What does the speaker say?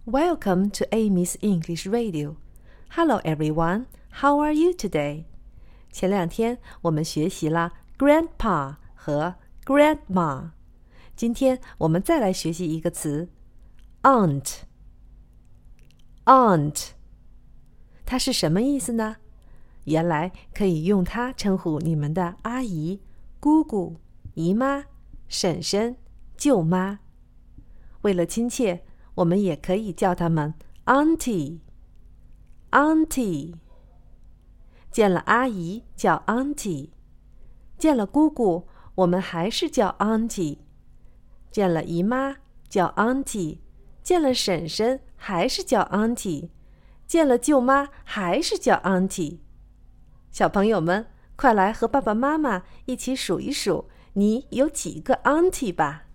Welcome to Amy's English Radio. Hello everyone, how are you today? 前2天我们学习了 grandpa 和 grandma. 今天我们再来学习一个词 aunt. Aunt. 它是什么意思呢？原来可以用它称呼你们的阿姨、姑姑、姨妈、婶婶、舅妈。为了亲切，我们也可以叫他们 auntie。auntie。见了阿姨叫 auntie， 见了姑姑我们还是叫 auntie， 见了姨妈叫 auntie， 见了婶婶还是叫 auntie， 见了舅妈还是叫 auntie。 小朋友们，快来和爸爸妈妈一起数一数，你有几个 auntie 吧。